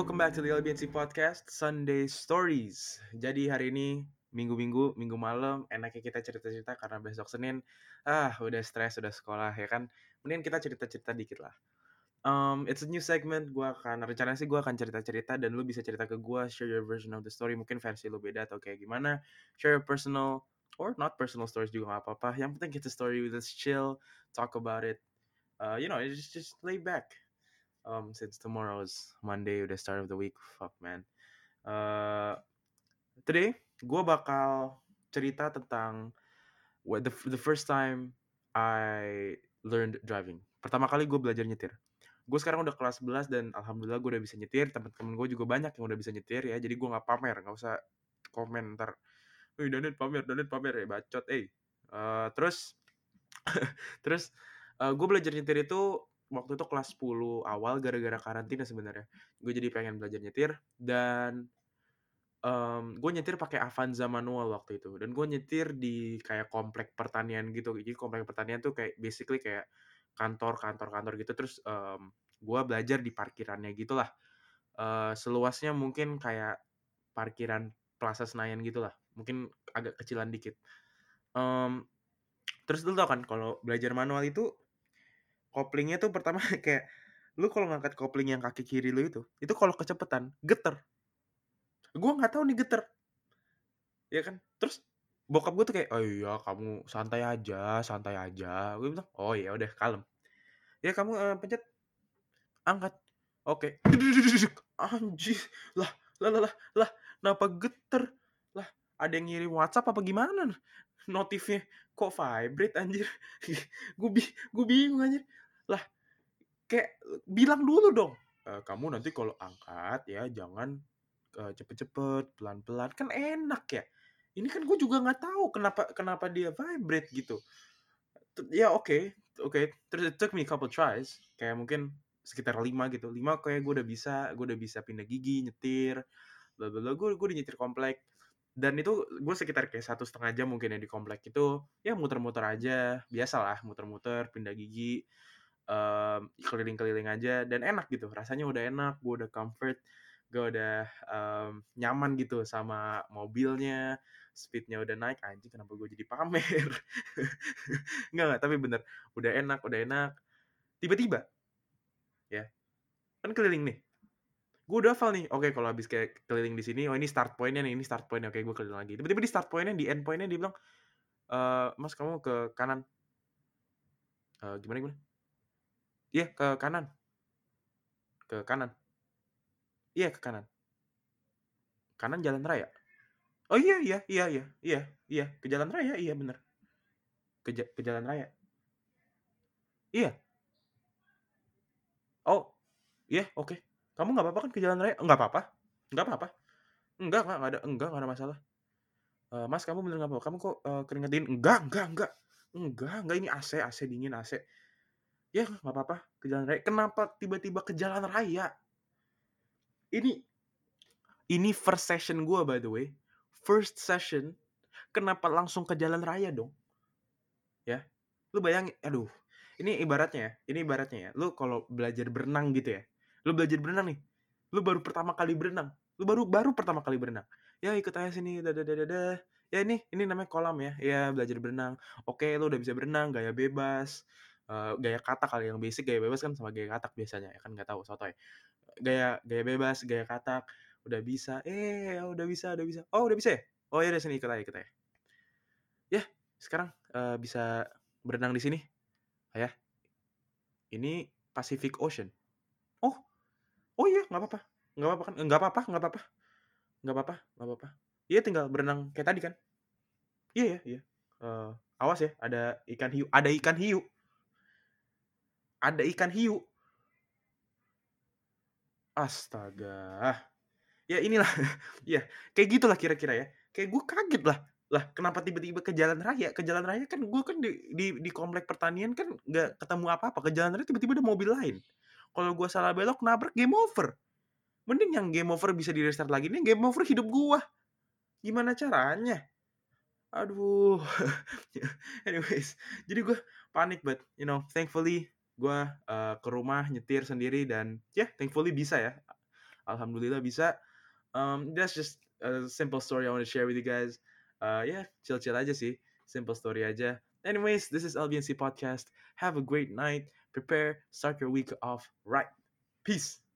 welcome back to the LBNC Podcast Sunday Stories. Jadi hari ini minggu malam enaknya kita cerita-cerita karena besok Senin udah stres, udah sekolah ya kan. Mending kita cerita-cerita dikit lah. It's a new segment. Rencananya sih gue akan cerita-cerita dan lu bisa cerita ke gue, share your version of the story. Mungkin versi lu beda atau kayak gimana. Share your personal or not personal stories juga gak apa-apa. Yang penting kita story with us, chill, talk about it. Just lay back. Since tomorrow is Monday, udah start of the week, fuck man. Today gue bakal cerita tentang the first time I learned driving. Pertama kali gue belajar nyetir. Gue sekarang udah kelas 11 dan alhamdulillah gue udah bisa nyetir. Temen-temen gue juga banyak yang udah bisa nyetir ya. Jadi gue nggak pamer, nggak usah komen ntar. Danit pamer ya bacot. Terus gue belajar nyetir itu waktu itu kelas 10 awal gara-gara karantina sebenarnya. Gue jadi pengen belajar nyetir dan gue nyetir pakai Avanza manual waktu itu. Dan gue nyetir di kayak komplek pertanian gitu. Jadi komplek pertanian tuh kayak basically kayak kantor gitu. Terus gue belajar di parkirannya gitulah. Seluasnya mungkin kayak parkiran Plaza Senayan gitulah. Mungkin agak kecilan dikit. Terus lu tau kan kalau belajar manual itu koplingnya tuh pertama kayak lu kalau ngangkat kopling yang kaki kiri lu itu kalau kecepetan geter. Gue nggak tahu nih geter, ya kan? Terus bokap gue tuh kayak, oh iya kamu santai aja. Gue bilang, oh ya udah kalem. Ya kamu pencet angkat, oke. Anjir, lah, kenapa geter? Lah, ada yang ngirim WhatsApp apa gimana? Notifnya kok vibrate anjir. gue bingung anjir. Lah, kayak bilang dulu dong. Kamu nanti kalau angkat ya jangan cepet-cepet, pelan-pelan, kan enak ya. Ini kan gue juga nggak tahu kenapa dia vibrate gitu. Ya oke. Terus it took me a couple tries, kayak mungkin sekitar 5 gitu. 5 kayak gue udah bisa pindah gigi, nyetir, bla bla bla. Gue udah nyetir komplek. Dan itu gue sekitar kayak 1,5 jam mungkin ya di komplek itu. Ya muter-muter aja, biasalah muter-muter, pindah gigi, keliling-keliling aja dan enak gitu. Rasanya udah enak, gue udah comfort, gue udah nyaman gitu sama mobilnya, speednya udah naik. Anjing kenapa gue jadi pamer. Enggak, tapi bener udah enak. Tiba-tiba ya kan keliling nih, gue udah hafal nih. Oke, kalau habis kayak keliling di sini, oh ini start pointnya nih, oke gue keliling lagi. Tiba-tiba di start pointnya, di end pointnya dia bilang, mas kamu ke kanan. Gimana? Iya, ke kanan. Iya, ke kanan. Kanan jalan raya. Oh iya, ke jalan raya, iya bener. Ke jalan raya. Iya. Oh, iya, oke. Kamu nggak apa-apa kan ke jalan raya? Nggak apa-apa. Nggak ada masalah. Mas, kamu bener nggak apa-apa? Kamu kok keringet dingin? Enggak. Ini AC dingin, AC. Ya nggak apa-apa ke jalan raya. Kenapa tiba-tiba ke jalan raya? Ini first session gue by the way. First session, kenapa langsung ke jalan raya dong? Ya, lu bayangin, aduh. Ini ibaratnya ya. Lu kalau belajar berenang gitu ya. Lu belajar berenang nih. Lu baru pertama kali berenang. Ya ikut aja sini, dadah. Ya ini namanya kolam ya. Ya belajar berenang. Oke, lu udah bisa berenang, gaya bebas. Gaya katak kali yang basic, gaya bebas kan sama gaya katak biasanya ya kan, nggak tahu sotoy. Gaya bebas, gaya katak, udah bisa. Udah bisa. Oh, udah bisa ya? Oh ya udah sini ikut aja. Ya, sekarang bisa berenang di sini. Ya. Ini Pacific Ocean. Oh iya, nggak apa-apa. Kan? Nggak apa-apa. Iya tinggal berenang kayak tadi kan? Iya. Awas ya, ada ikan hiu. Astaga. Ya inilah. Ya, kayak gitulah kira-kira ya. Kayak gue kaget lah. Lah, kenapa tiba-tiba ke jalan raya? Ke jalan raya kan gue kan di komplek pertanian kan nggak ketemu apa-apa. Ke jalan raya tiba-tiba ada mobil lain. Kalau gue salah belok nabrak, game over. Mending yang game over bisa di restart lagi. Ini game over hidup gue. Gimana caranya? Aduh. Anyways, jadi gue panik, but thankfully gue ke rumah nyetir sendiri dan thankfully bisa ya. alhamdulillah bisa. That's just a simple story I want to share with you guys. Yeah, chill aja sih, simple story aja. Anyways, this is LBNC podcast. Have a great night. Prepare, start your week off right. Peace.